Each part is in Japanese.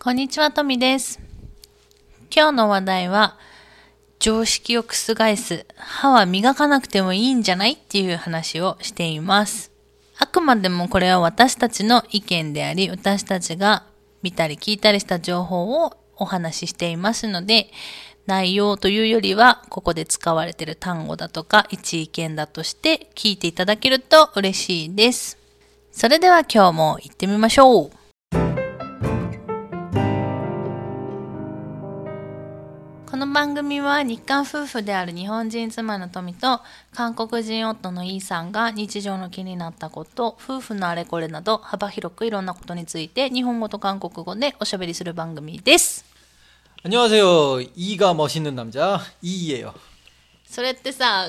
こんにちは、トミです。今日の話題は、常識を覆す、歯は磨かなくてもいいんじゃないっていう話をしています。あくまでもこれは私たちの意見であり、私たちが見たり聞いたりした情報をお話ししていますので、内容というよりは、ここで使われている単語だとか、一意見だとして聞いていただけると嬉しいです。それでは今日も行ってみましょう。この番組は日韓夫婦である日本人妻のトミと韓国人夫のイーさんが日常の気になったこと、夫婦のあれこれなど幅広くいろんなことについて日本語と韓国語でおしゃべりする番組です。 안녕하세요. 이가 멋있는 남자 이예요. それってさ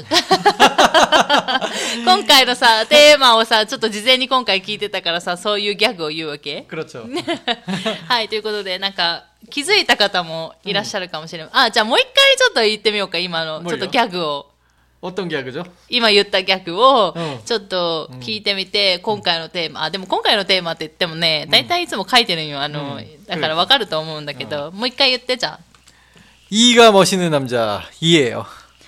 今回のさテーマをさちょっと事前に今回聞いてたからさそういうギャグを言うわけ 그렇죠. はいということでなんか気づいた方もいらっしゃるかもしれない、あじゃあもう一回ちょっと言ってみようか今のちょっとギャグを 어떤ギャグ죠? 今言ったギャグをちょっと聞いてみて、今回のテーマ、でも今回のテーマって言ってもね、だいたいいつも書いてるんよ。だからわかると思うんだけど、もう一回言ってじゃあ。 이가 멋있는 남자 이예요.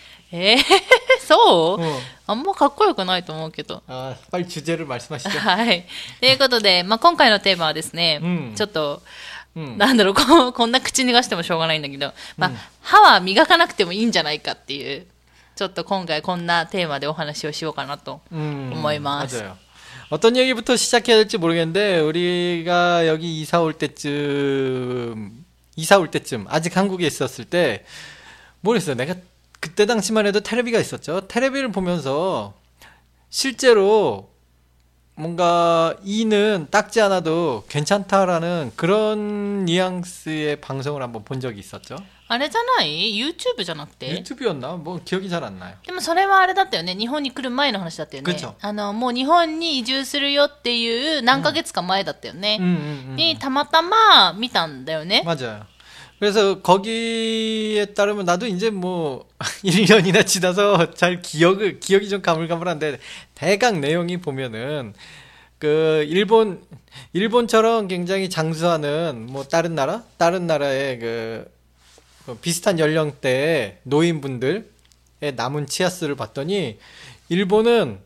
そう、あんまかっこよくないと思うけど。 빨리 주제를 말씀하시죠. はい。ということで、今回のテーマはですね、ちょっと、なんだろう、こんな口に出してもしょうがないんだけど、歯は磨かなくてもいいんじゃないかっていう、ちょっと今回こんなテーマでお話をしようかなと思います。 맞아요. 어떤 얘기부터 시작해야 될지 모르겠는데 우리가 여기 이사 올 때쯤 아직 한국에 있었을 때 모르겠어요. 내가 그때 당시만 해도 테레비가 있었죠. 테레비를 보면서 실제로 뭔가 이는 닦지 않아도 괜찮다라는 그런 뉘앙스의 방송을 한번 본 적이 있었죠. あれじゃない YouTube じゃなくて 유튜브였나? 뭐 기억이 잘 안 나요. でもそれはあれだったよね。日本に来る前の話だったよね。もう日本に移住するよっていう何ヶ月か前だったよね。にたまたま見たんだよね。 맞아요. 그래서 거기에 따르면 나도 이제 뭐 1년이나 지나서 잘 기억이 좀 가물가물한데 대강 내용이 보면은 그 일본처럼 굉장히 장수하는 뭐 다른 나라의 그 비슷한 연령대의 노인분들의 남은 치아수를 봤더니 일본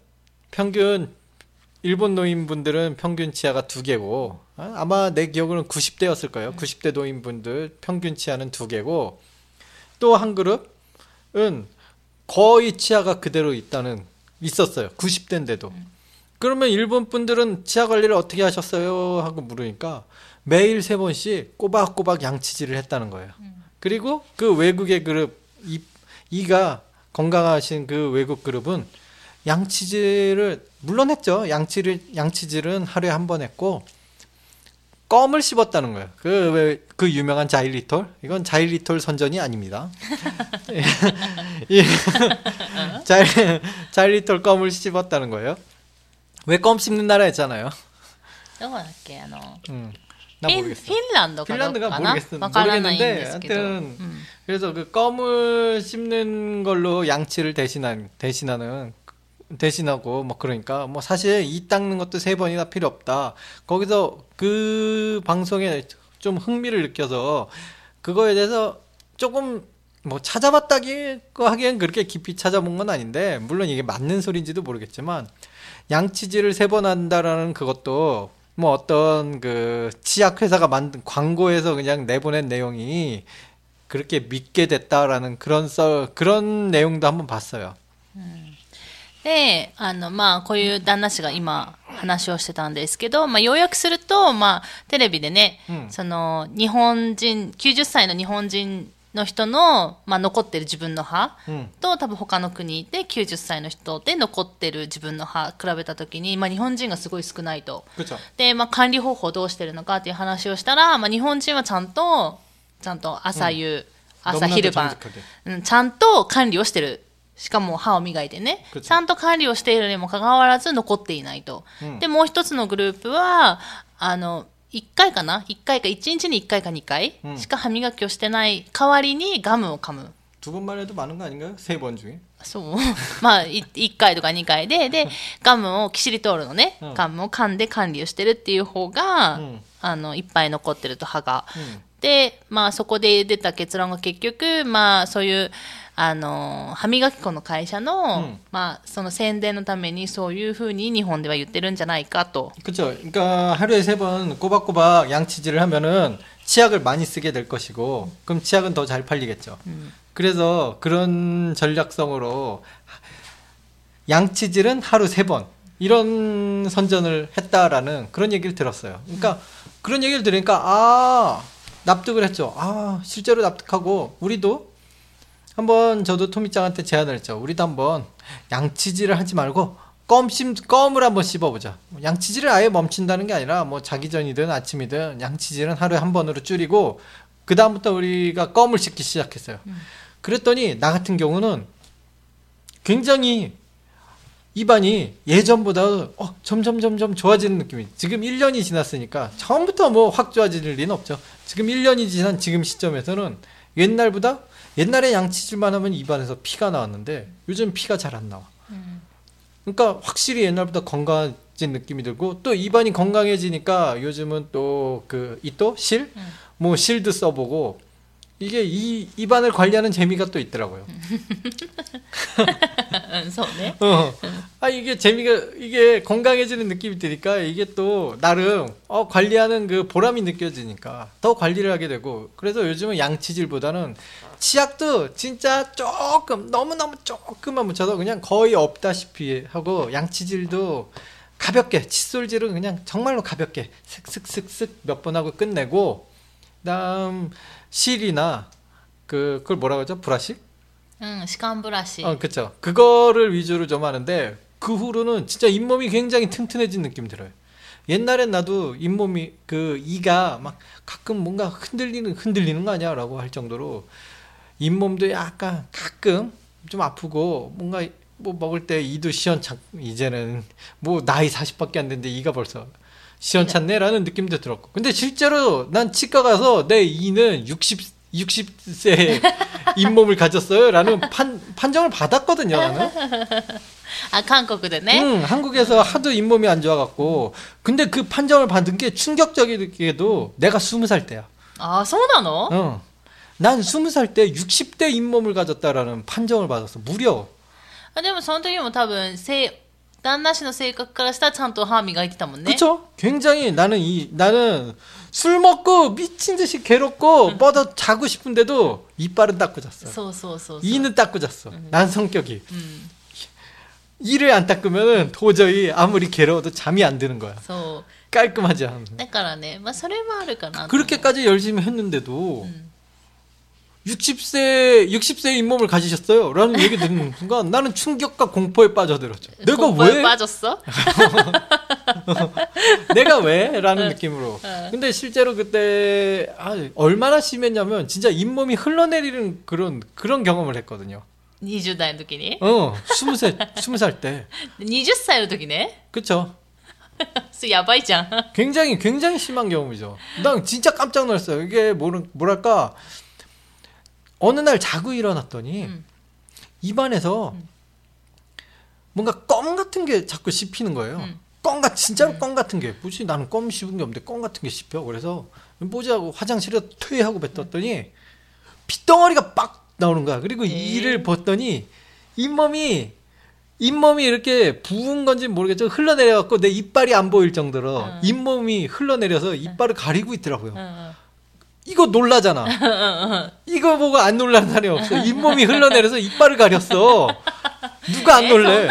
노인분들은 평균 치아가 2개고 아마 내 기억으로는 90대였을 거예요. 90대 노인분들 평균 치아는 2개고 또 한 그룹은 거의 치아가 그대로 있었어요. 90대인데도. 그러면 일본 분들은 치아 관리를 어떻게 하셨어요? 하고 물으니까 매일 3번씩 꼬박꼬박 양치질을 했다는 거예요. 그리고 그 외국의 그룹 이가 건강하신 그 외국 그룹은 양치질을 물론 했죠. 양치질은 하루에 한 번 했고 껌을 씹었다는 거예요. 그 유명한 자일리톨? 이건 자일리톨 선전이 아닙니다. 자일리톨 껌을 씹었다는 거예요. 왜 껌 씹는 나라 했잖아요. どこだっけ 나 모르겠어. 핀란드가 모르겠는데 하여튼 그래서 그 껌을 씹는 걸로 양치를 대신하고 뭐 그러니까 뭐 사실 이 닦는 것도 3번이나 필요 없다. 거기서 그 방송에 좀 흥미를 느껴서 그거에 대해서 조금 뭐 찾아봤다고 하기엔 그렇게 깊이 찾아본 건 아닌데 물론 이게 맞는 소리인지도 모르겠지만 양치질을 3번 한다라는 그것도 뭐 어떤 그 치약 회사가 만든 광고에서 그냥 내보낸 내용이 그렇게 믿게 됐다라는 그런 내용도 한번 봤어요. で、こういう旦那氏が今話をしてたんですけど、要約すると、テレビでね、その、日本人、90歳の日本人の人の、残ってる自分の歯と、多分他の国で90歳の人で残ってる自分の歯比べたときに、日本人がすごい少ないと。で、管理方法どうしてるのかっていう話をしたら、日本人はちゃんと朝夕、朝昼晩、ちゃんと管理をしてる。しかも歯を磨いてね、ちゃんと管理をしているにもかかわらず残っていないと。で、もう一つのグループは、1回か1日に1回か2回しか歯磨きをしてない代わりにガムを噛む。 2번만 해도 많은 거 아닌가요? 3번 중에? そう。まあ、1回とか2回で、ガムをキシリトールのね、ガムを噛んで管理をしてるっていう方が、いっぱい残ってると歯が。で、まあ、そこで出た結論が結局、まあ、そういう、歯磨き粉の会社の、まあ、その宣伝のためにそういうふうに日本では言ってるんじゃないかと。 그렇죠. 그러니까 하루에 3번 꼬박꼬박 양치질을 하면은 치약을 많이 쓰게 될 것이고, 그럼 치약은 더 잘 팔리겠죠. 그래서 그런 전략성으로 양치질은 하루 3번 이런 선전을 했다라는 그런 얘기를 들었어요. 그러니까 그런 얘기를 들으니까 납득을 했죠. 실제로 납득하고 우리도 한번 저도 토미짱한테 제안을 했죠. 우리도 한번 양치질을 하지 말고 껌을 한번 씹어보자. 양치질을 아예 멈춘다는 게 아니라 뭐 자기 전이든 아침이든 양치질은 하루에 한 번으로 줄이고 그 다음부터 우리가 껌을 씹기 시작했어요. 그랬더니 나 같은 경우는 굉장히 입안이 예전보다 점점 좋아지는 느낌이. 지금 1년이 지났으니까 처음부터 뭐 확 좋아질 리는 없죠. 지금 1년이 지난 지금 시점에서는 옛날에 양치질만 하면 입안에서 피가 나왔는데 요즘 피가 잘 안 나와. 그러니까 확실히 옛날보다 건강해진 느낌이 들고 또 입안이 건강해지니까 요즘은 또 뭐 실도 써보고 이게 이 입안을 관리하는 재미가 또 있더라고요. 이게 이게 건강해지는 느낌이 드니까 이게 또 나름 관리하는 그 보람이 느껴지니까 더 관리를 하게 되고 그래서 요즘은 양치질보다는 치약도 진짜 너무너무 조금만 묻혀서 그냥 거의 없다시피 하고 양치질도 가볍게 칫솔질은 그냥 정말로 가볍게 슥슥슥슥 몇 번 하고 끝내고 그다음 실이나 그걸 뭐라고 하죠? 브라시? 시간 브라시. 그쵸. 그거를 위주로 좀 하는데 그 후로는 진짜 잇몸이 굉장히 튼튼해진 느낌이 들어요. 옛날엔 나도 잇몸이 이가 막 가끔 뭔가 흔들리는 거 아니야? 라고 할 정도로 잇몸도 약간 가끔 좀 아프고 뭔가 뭐 먹을 때 이도 시원찮 이제는 뭐 나이 40밖에 안 됐는데 이가 벌써 시원찮네라는 느낌도 들었고 근데 실제로 난 치과 가서 내 이는 60세 잇몸을 가졌어요 라는 판정을 받았거든요 나는. 한국에네? 한국에서 하도 잇몸이 안 좋아갖고 근데 그 판정을 받은 게 충격적이게도 내가 20살 때야. 소나노? 난 20살 때 60대 잇몸을 가졌다라는 판정을 받았어. 무려. でもその時も多分旦那氏の性格からしたらちゃんと歯磨いてたもんね. 그쵸? 굉장히 나는 술 먹고 미친 듯이 괴롭고 뻗어 자고 싶은데도 이빨은 닦고 잤어. 이는 닦고 잤어. 난 성격이. 이를 안 닦으면 도저히 아무리 괴로워도 잠이 안 드는 거야. 깔끔하지 않아. だからね、まあそれもあるかな. 그렇게까지 열심히 했는데도 60세 잇몸을 가지셨어요. 라는 얘기 듣는 순간 나는 충격과 공포에 빠져들었죠. 내가 공포에 왜? 빠졌어? 내가 왜? 라는 느낌으로. 근데 실제로 그때 얼마나 심했냐면 진짜 잇몸이 흘러내리는 그런 경험을 했거든요. 20代の時に? 20살 때. 20歳の時ね? 그쵸. 야ばいじゃん. 굉장히 심한 경험이죠. 난 진짜 깜짝 놀랐어요. 이게 뭐랄까 어느 날 자고 일어났더니 입안에서 뭔가 껌 같은 게 자꾸 씹히는 거예요. 진짜로 껌 같은 게. 뭐지? 나는 껌 씹은 게 없는데 껌 같은 게 씹혀. 그래서 뭐지 하고 화장실에 퇴하고 뱉었더니 핏덩어리가 빡 나오는 거야. 그리고 이를 벗더니 잇몸이 이렇게 부은 건지 모르겠죠. 흘러내려갖고 내 이빨이 안 보일 정도로 잇몸이 흘러내려서 이빨을 가리고 있더라고요. 이거 놀라잖아. 이거 보고 안 놀라는 사람이 없어. 잇몸이 흘러내려서 이빨을 가렸어. 누가 안 놀래?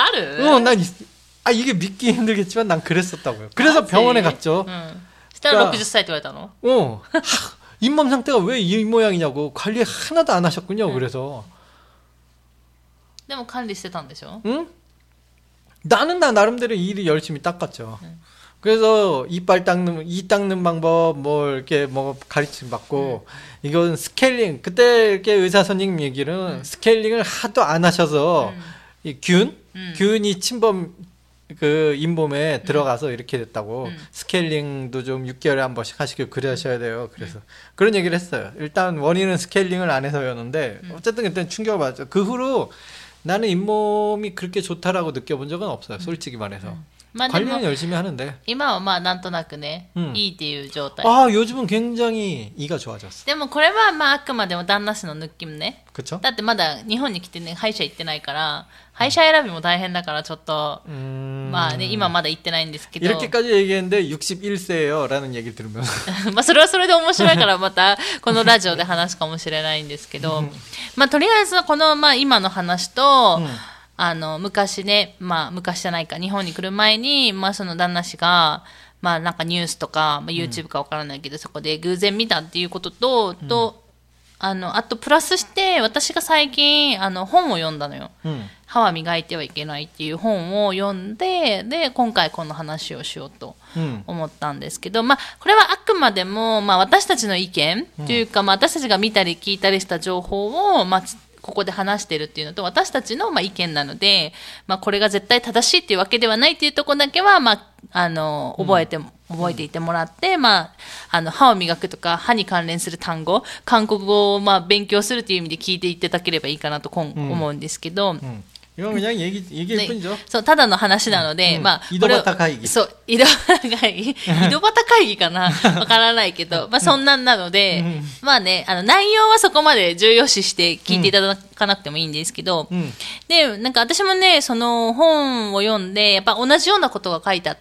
이게 믿기 힘들겠지만 난 그랬었다고요. 그래서 병원에 갔죠. 60歳って言われたの? 잇몸 상태가 왜 이 모양이냐고 관리 하나도 안 하셨군요. 그래서. でも管理してたんでしょ? 응? 나는 나 나름대로 일을 열심히 닦았죠. 그래서 이 닦는 방법 이렇게 가르침 받고 이건 스케일링 그때 이렇게 의사 선생님 얘기는 스케일링을 하도 안 하셔서 이 균이 침범 그 잇몸에 들어가서 이렇게 됐다고 스케일링도 좀 6개월에 한 번씩 하시고 그러셔야 돼요. 그래서 그런 얘기를 했어요. 일단 원인은 스케일링을 안 해서였는데 어쨌든 그때는 충격을 받았죠. 그 후로 나는 잇몸이 그렇게 좋다라고 느껴본 적은 없어요. 솔직히 말해서. まあでも 관리는 열심히 하는데. 今はまあなんとなくね、 うんいいっていう状態。 아, 요즘은 굉장히 이가 좋아졌어. でもこれはまああくまでも旦那氏の抜きね。 그쵸? だってまだ日本に来てね、歯医者行ってないから、歯医者選びも大変だからちょっと、まあね、今まだ行ってないんですけど。 이렇게까지 얘기했는데 61세예요 라는 얘기를 들으면 まあそれはそれで面白いからまたこのラジオで話すかもしれないんですけど、まあとりあえずこのまあ今の話と、昔ね、まあ昔じゃないか、日本に来る前に、まあその旦那氏が、まあなんかニュースとか、まあ、YouTube かわからないけど、そこで偶然見たっていうことと、あとプラスして私が最近本を読んだのよ。歯は磨いてはいけないっていう本を読んで、で今回この話をしようと思ったんですけど、まあこれはあくまでもまあ私たちの意見というか、まあ私たちが見たり聞いたりした情報をまあここで話してるっていうのと私たちのまあ意見なので、まあこれが絶対正しいっていうわけではないっていうところだけはまあ覚えていてもらって、まあ歯を磨くとか歯に関連する単語、韓国語をまあ勉強するっていう意味で聞いていただければいいかなと思うんですけど。 이건 그냥 얘기일 뿐이죠. そう、ただの話なので、まあ、 井戸端会議。 そう、井戸端会議。井戸端会議かなわからないけど、まあそんなんなので、まあね、内容はそこまで重要視して聞いていただかなくてもいいんですけど、で、なんか私もね、その本を読んで、やっぱ同じようなことが書いてあって、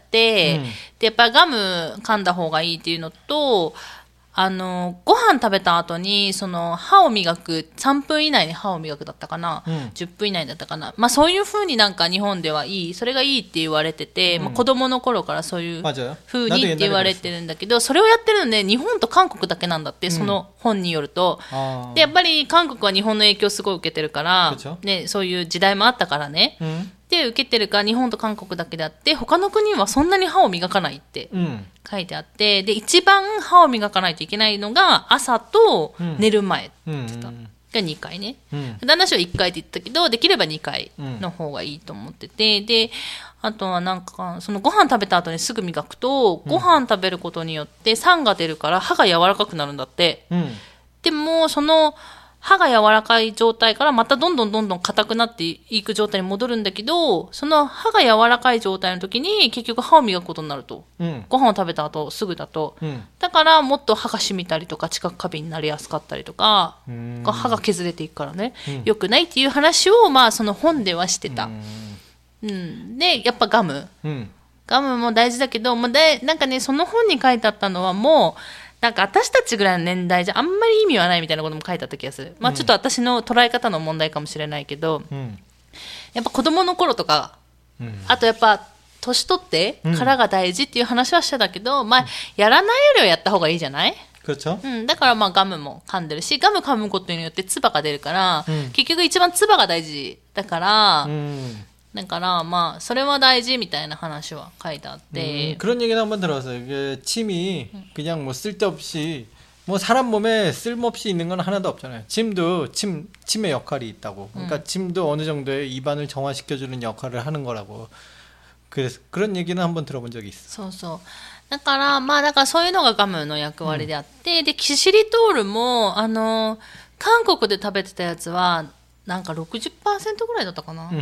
で、やっぱガム噛んだ方がいいっていうのと、ご飯食べた後に、その、歯を磨く、3分以内に歯を磨くだったかな、10分以内だったかな。まあそういう風になんか日本ではいい、それがいいって言われてて、まあ子供の頃からそういう風にって言われてるんだけど、それをやってるのね、日本と韓国だけなんだって、その本によると。で、やっぱり韓国は日本の影響すごい受けてるから、ね、そういう時代もあったからね。で、受けてるから日本と韓国だけであって、他の国はそんなに歯を磨かないって書いてあって、で、一番歯を磨かないといけないのが朝と寝る前って言ってた。が2回ね。旦那氏は1回って言ったけど、できれば2回の方がいいと思ってて、で、あとはなんか、そのご飯食べた後にすぐ磨くと、ご飯食べることによって酸が出るから歯が柔らかくなるんだって。でも、その、歯が柔らかい状態からまたどんどん硬くなっていく状態に戻るんだけど、その歯が柔らかい状態の時に結局歯を磨くことになると。ご飯を食べた後すぐだと。だからもっと歯が染みたりとか知覚過敏になりやすかったりとか、歯が削れていくからね、良くないっていう話をまあその本ではしてた。で、やっぱガム。ガムも大事だけど、なんかね、その本に書いてあったのはもう、なんか私たちぐらいの年代じゃあんまり意味はないみたいなことも書いてあった気がする。まあちょっと私の捉え方の問題かもしれないけど、やっぱ子供の頃とか、あとやっぱ年取ってからが大事っていう話はしてたけど、まあやらないよりはやった方がいいじゃない？だからまあガムも噛んでるし、ガム噛むことによって唾が出るから、結局一番唾が大事だから、だからまあそれは大事みたいな話は書いてあって、 그런 얘기는 한번 들어봤어요. 이게 침이 그냥 뭐 쓸데없이 뭐 사람 몸에 쓸모없이 있는 건 하나도 없잖아요. 침도 침의 역할이 있다고. 그러니까 침도 어느 정도의 입안을 정화시켜주는 역할을 하는 거라고. 그래서 그런 얘기는 한번 들어본 적이 있어. そうそう。だからまあだからそういうのがガムの役割であって、でキシリトールも韓国で食べてたやつはなんか 60% ぐらいだったかな、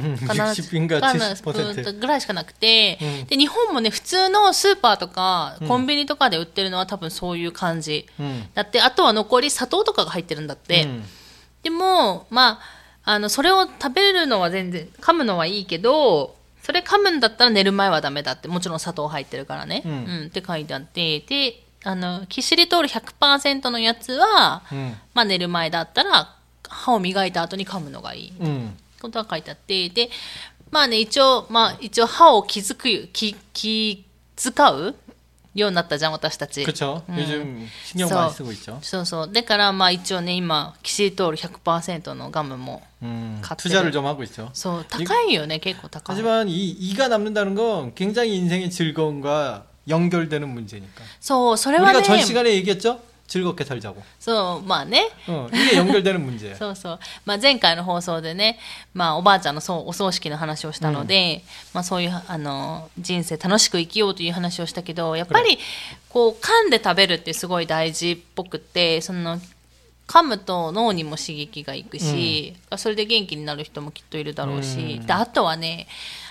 60% ぐらいしかなくて、で日本もね普通のスーパーとかコンビニとかで売ってるのは多分そういう感じ、だってあとは残り砂糖とかが入ってるんだって、でもまあそれを食べるのは全然噛むのはいいけど、それ噛むんだったら寝る前はダメだって、もちろん砂糖入ってるからね、って書いてあって、でキシリトール 100% のやつは、まあ寝る前だったら歯を磨いた後に噛むのがいいことが書いてあって、でまあね一応歯を気遣うようになったじゃん私たち。 그렇죠. 요즘 신경 많이 쓰고 있죠. そうそうだからまあ一応ね今キシリトール 100% のガムも買ってる。 투자를 좀 하고 있죠. そう高いよね結構高い。 하지만 이가 남는다는 건 굉장히 인생의 즐거움과 연결되는 문제니까. そうそれはね 우리가 전 시간에 얘기했죠. 즐겁게 살자고. そうまあね 이게 연결되는 문제예요. そうそう、まあ、前回の放送でね、まあ、おばあちゃんのお葬式の話をしたので、まあ、そういう人生楽しく生きようという話をしたけど、やっぱりこう噛んで食べるってすごい大事っぽくて、その噛むと脳にも刺激がいくし、それで元気になる人もきっといるだろうし、であとはね、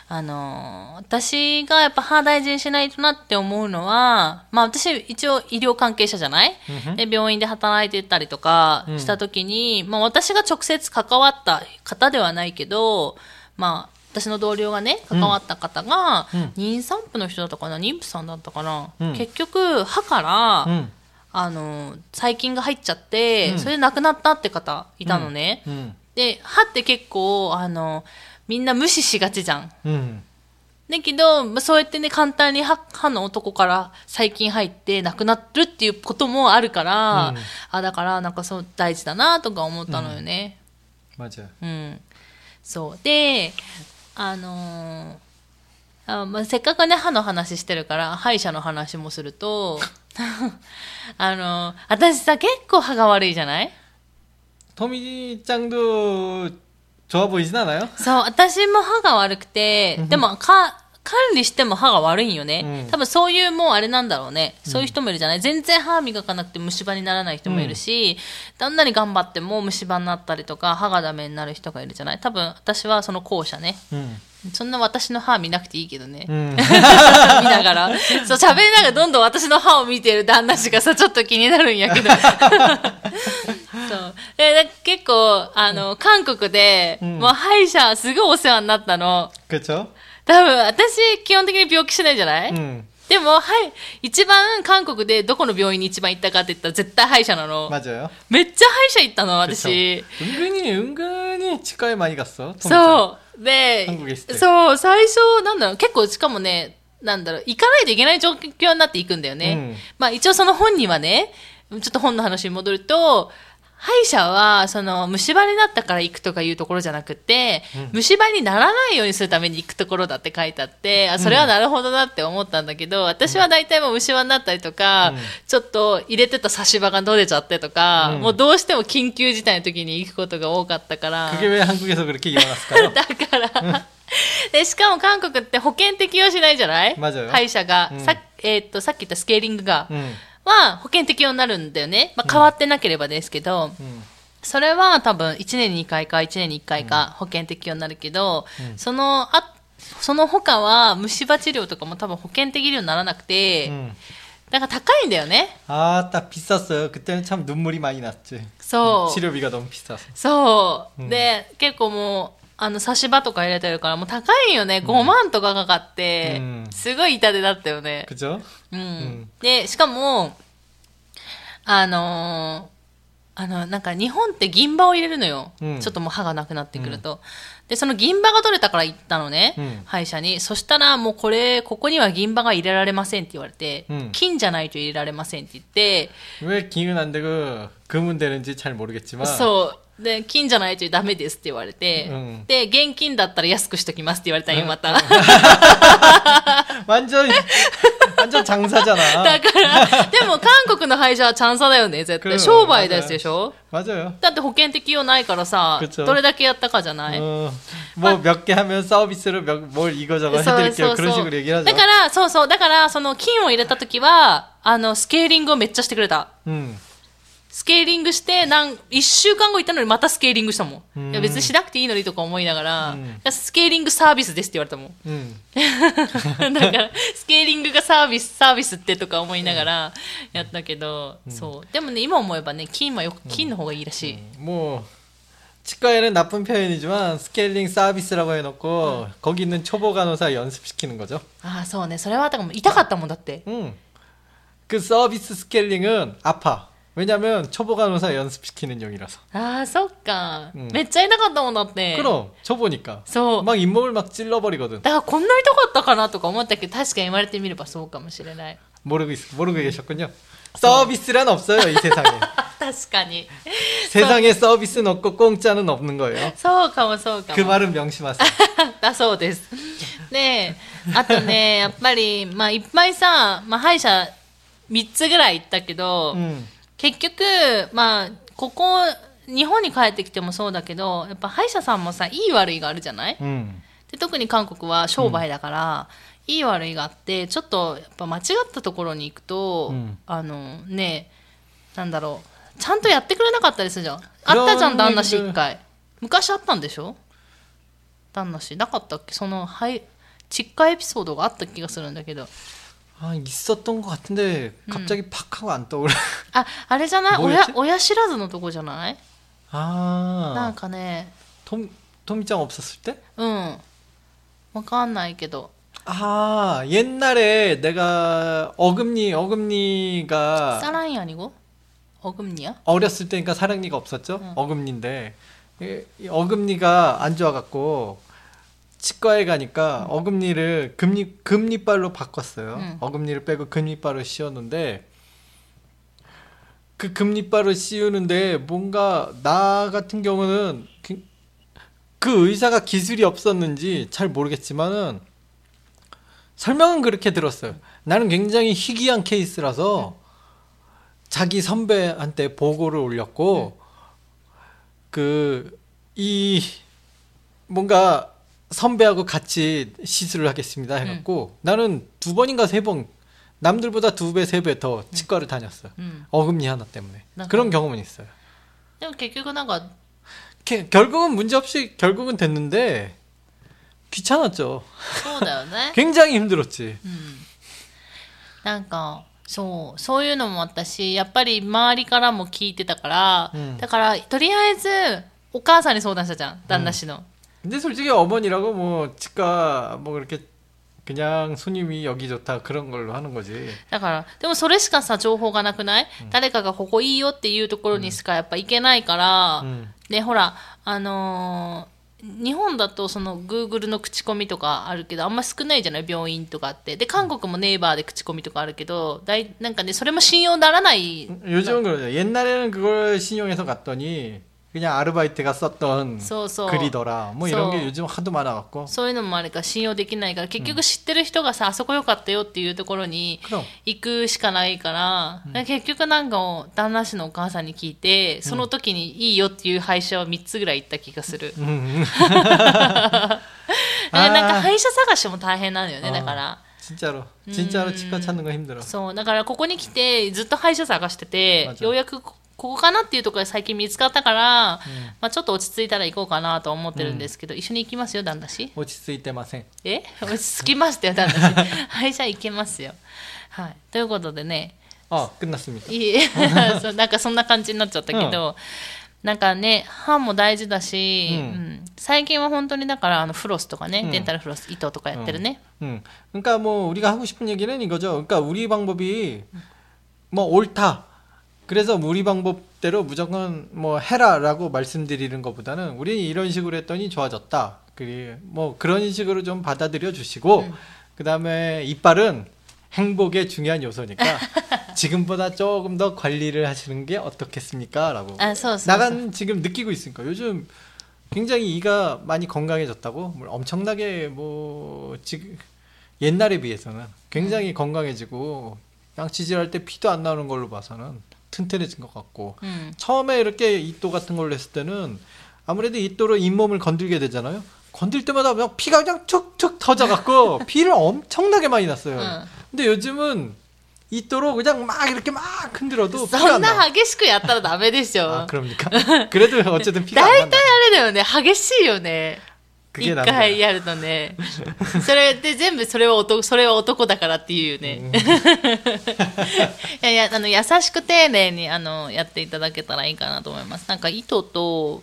私がやっぱ歯大事にしないとなって思うのは、まあ私一応医療関係者じゃない、で病院で働いてたりとかした時に、まあ私が直接関わった方ではないけど、まあ私の同僚がね、関わった方が、妊産婦の人だったかな、妊婦さんだったかな、結局歯から、細菌が入っちゃって、それで亡くなったって方いたのね。で、歯って結構、みんな無視しがちじゃん。だけど、そうやってね、簡単に歯の男から細菌入って亡くなるっていうこともあるから、だからなんかそう大事だなとか思ったのよね。そう。で、せっかくね、歯の話してるから、歯医者の話もすると、私さ、結構歯が悪いじゃない？ トミちゃんと좋아보이진않아요？ そう、私も歯が悪くて、でも管理しても歯が悪いんよね。多分そういうもうあれなんだろうね。そういう人もいるじゃない？全然歯磨かなくて虫歯にならない人もいるし、どんなに頑張っても虫歯になったりとか、歯がダメになる人がいるじゃない？多分私はその後者ね。そんな私の歯見なくていいけどね。見ながら。そう、喋りながらどんどん私の歯を見てる旦那氏がさ、ちょっと気になるんやけど。そう。結構、韓国で、もう歯医者すごいお世話になったの。 그쵸？ 多分、私、基本的に病気しないじゃない？でも、一番韓国でどこの病院に一番行ったかって言ったら絶対歯医者なの。 맞아요。 めっちゃ歯医者行ったの、私。 은근히 치과에 많이 갔어。 そう。で、そう、最初、結構、しかもね、行かないといけない状況になっていくんだよね。まあ一応その本にはね、ちょっと本の話に戻ると、歯医者は、虫歯になったから行くとかいうところじゃなくて、虫歯にならないようにするために行くところだって書いてあって、それはなるほどなって思ったんだけど、私は大体もう虫歯になったりとか、ちょっと入れてた差し歯が取れちゃってとか、もうどうしても緊急事態の時に行くことが多かったから。 그게왜한국에서그렇게일어났을까요？ だから、で、しかも韓国って保険適用しないじゃない？歯医者が。さっき言ったスケーリングが。は保険適用になるんだよね。まあ、変わってなければですけど、それは多分1年に2回か1年に1回か保険適用になるけど、その他は虫歯治療とかも多分保険適用にならなくて、だから高いんだよね。 딱 비쌌어요。그때는 참 눈물이 많이 났지。 そう。 치료비가 너무 비싸서。 そう。で、結構もう、差し歯とか入れてるからもう高いよね。5万とかかかって、すごい痛手だったよね。 그죠？ で、しかも、なんか日本って銀歯を入れるのよ。ちょっともう歯がなくなってくると。で、その銀歯が取れたから行ったのね。歯医者に。そしたらもうここには銀歯が入れられませんって言われて、金じゃないと入れられませんって言って、 왜金은 안 되고 금은 되는지 잘 모르겠지만。 そう。で、金じゃないとダメですって言われて、で、現金だったら安くしときますって言われたよ、また。 완전 장사잖아。 だから、でも韓国の歯医者はチャンサだよね、絶対。商売ですでしょ？ 맞아요。 だって保険適用ないからさ、どれだけやったかじゃない？ 뭐 몇 개 하면 서비스로 뭘 이거저거 해드릴게요。그런 식으로 얘기를 하죠。 だから、だから、その金を入れたときは、スケーリングをめっちゃしてくれた。スケーリングして、1週間後行ったのにまたスケーリングしたもん。いや別にしなくていいのにとか思いながら、スケーリングサービスですって言われたもん。だから、スケーリングがサービスってとか思いながらやったけど、そう。でもね、今思えばね、金の方がいいらしい。 もう、치과에는 나쁜 표현이지만 스케일링 서비스라고 해놓고 거기 있는 초보 간호사 연습시키는 거죠. 아, そうね。それは痛かったもんだって. 그 서비스 스케일링은 아파. 왜냐면 초보 간호사 연습시키는 용이라서. 아, そっか. めっちゃ痛かったもんだって. 그럼 초보니까. そう. 막 잇몸을 막 찔러버리거든. だからこんな痛かったかなとか思ったけど確かに言われてみればそうかもしれない. 모르고 계셨군요. 서비스란 없어요, 이 세상에. 確かに. 세상에 서비스는 없고 공짜는 없는 거예요. そうかもそうかも. 그 말은 명심하세요. だそうです。で、あとね、やっぱり、まあいっぱいさ、まあ歯医者3つぐらい行ったけど、結局、まあ、日本に帰ってきてもそうだけど、やっぱ歯医者さんもさ、いい悪いがあるじゃない？で特に韓国は商売だから、いい悪いがあって、ちょっとやっぱ間違ったところに行くと、ね、なんだろう、 ちゃんとやってくれなかったりするじゃん。あったじゃん、旦那氏一回。昔あったんでしょ、旦那氏。なかったっけ、その、はい、窒化エピソードがあった気がするんだけど。 있었던 것 같은데 갑자기 팍 하고 안 떠오르. あれじゃない、親知らずのとこじゃない？なんかね、 토미짱 없었을 때? わかんないけど。 옛날에 내가 어금니가 사랑이 아니고 어금니야? 어렸을 때니까 사랑니가 없었죠. 어금니인데 어금니가 안 좋아갖고 치과에 가니까 어금니를 금니발로 바꿨어요. 어금니를 빼고 금니발로 씌웠는데 그 금니발을 씌우는데 뭔가 나 같은 경우는 그 의사가 기술이 없었는지 잘 모르겠지만은 설명은 그렇게 들었어요. 나는 굉장히 희귀한 케이스라서 자기 선배한테 보고를 올렸고 뭔가 선배하고 같이 시술을 하겠습니다 해갖고 나는 2번인가 3번 남들보다 2배 3배 더 치과를 다녔어요. 어금니 하나 때문에. 그런 경험은 있어요. 결국은 문제없이 결국은 됐는데 귀찮았죠. 굉장히 힘들었지. なんかそういうのもあったし、やっぱり周りからも聞いてたから、だからとりあえずお母さんに相談したじゃん、旦那氏の。 근데 솔직히 어머니라고 뭐 치과 뭐 그렇게 그냥 손님이 여기 좋다 그런 걸로 하는 거지. だからでもそれしかさ情報がなくない？誰かがここいいよっていうところにしかやっぱ行けないから、でほら日本だとその Google の口コミとかあるけどあんま少ないじゃない、病院とかって。で韓国もネイバーで口コミとかあるけどなんかねそれも信用ならない。 요즘은 그러죠. 옛날에는 그걸 신용해서 갔더니 그냥 아르바이트가 썼던 글이더라. 뭐 이런 게 요즘 하도 많아갖고. そういうのもあるから信用できないから結局知ってる人がさあそこ良かったよっていうところに行くしかないから、結局なんか旦那氏のお母さんに聞いてその時にいいよっていう歯医者は3つぐらい行った気がする。なんか歯医者探しも大変なのよね。だから 진짜로 치과 찾는 거 힘들어. そうだからここに来てずっと歯医者探しててようやくここかなっていうところで最近見つかったから、まあちょっと落ち着いたら行こうかなと思ってるんですけど、一緒に行きますよ旦那氏。 落ち着いてません。 落ち着きましたよ旦那氏。はい、じゃあ行けますよ。はい。ということでね。 끝났습니다。 そうなんかそんな感じになっちゃったけど、なんかね歯も大事だし、最近は本当にだからフロスとかね、デンタルフロス糸とかやってるね。 그러니까 뭐 우리가 하고 싶은 얘기는 이거죠. 그러니까 우리 방법이 뭐 옳다. 그래서 우리 방법대로 무조건 뭐 해라라고 말씀드리는 것보다는 우리는 이런 식으로 했더니 좋아졌다. 뭐 그런 식으로 좀 받아들여 주시고 그다음에 이빨은 행복의 중요한 요소니까 지금보다 조금 더 관리를 하시는 게 어떻겠습니까? 라고 나간 지금 느끼고 있으니까 요즘 굉장히 이가 많이 건강해졌다고 엄청나게 뭐 지금 옛날에 비해서는 굉장히 건강해지고 양치질 할 때 피도 안 나오는 걸로 봐서는 튼튼해진 것 같고 처음에 이렇게 이또 같은 걸로 했을 때는 아무래도 이또로 잇몸을 건들게 되잖아요. 건들 때마다 그냥 피가 그냥 툭툭 터져갖고 피를 엄청나게 많이 났어요. 근데 요즘은 이또로 그냥 막 이렇게 막 흔들어도 피가 안 나. そんな激しくやったらダメでしょ。 그럽니까? 그래도 어쨌든 피가 안 난다. 大体あれだよね、激しいよね。一回やるとね。それで全部それは男だからっていうよね。いや優しく丁寧にやっていただけたらいいかなと思います。なんか糸と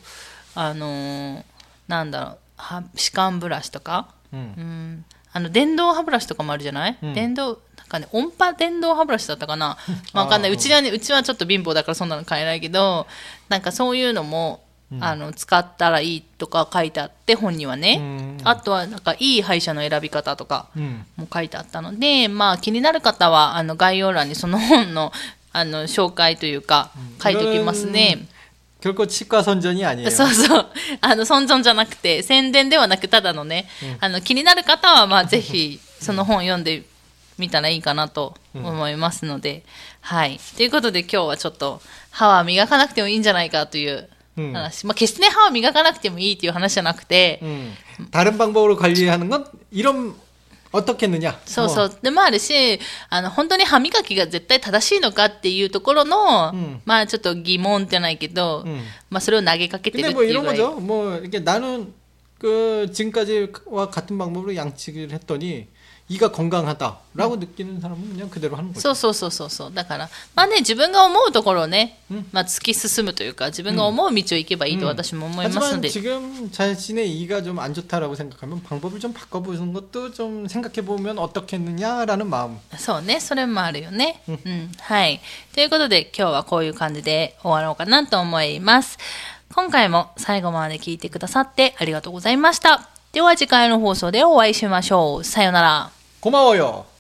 なんだろう歯間ブラシとか、電動歯ブラシとかもあるじゃない？電動なんかね音波電動歯ブラシだったかな。わかんない。うちはちょっと貧乏だからそんなの買えないけど、なんかそういうのも。使ったらいいとか書いてあって本にはね、あとはなんかいい歯医者の選び方とかも書いてあったので、まあ気になる方は概要欄にその本の紹介というか書いておきますね。 결코 치과 선전이 아니에요. そうそう尊重じゃなくて宣伝ではなくただのね、気になる方はまあぜひその本読んでみたらいいかなと思いますので、はいということで今日はちょっと歯は磨かなくてもいいんじゃないかという話、決してね歯を磨かなくてもいいっていう話じゃなくて、 다른 방법으로 관리하는 건 이런 어떻게 했느냐. そうそう。でもあるし、本当に歯磨きが絶対正しいのかっていうところの、まあちょっと疑問じゃないけど、まあそれを投げかけてるっていうぐらい。 근데 뭐 이런 거죠. 뭐 이렇게 나는 그 지금까지와 같은 방법으로 양치기를 했더니 이가 건강하다라고 느끼는 사람은 그냥 그대로 하는 거죠. そうそうそうそうそう。だから、まあね、自分が思うところをね、まあ突き進むというか、自分が思う道を行けばいいと私も思いますので。 하지만 지금 자신의 이가 좀 안 좋다라고 생각하면 방법을 좀 바꿔보는 것도 좀 생각해보면 어떻겠느냐라는 마음. そうね、それもあるよね。はい。ということで、今日はこういう感じで終わろうかなと思います。今回も最後まで聞いてくださってありがとうございました。では次回の放送でお会いしましょう。さようなら。 고마워요.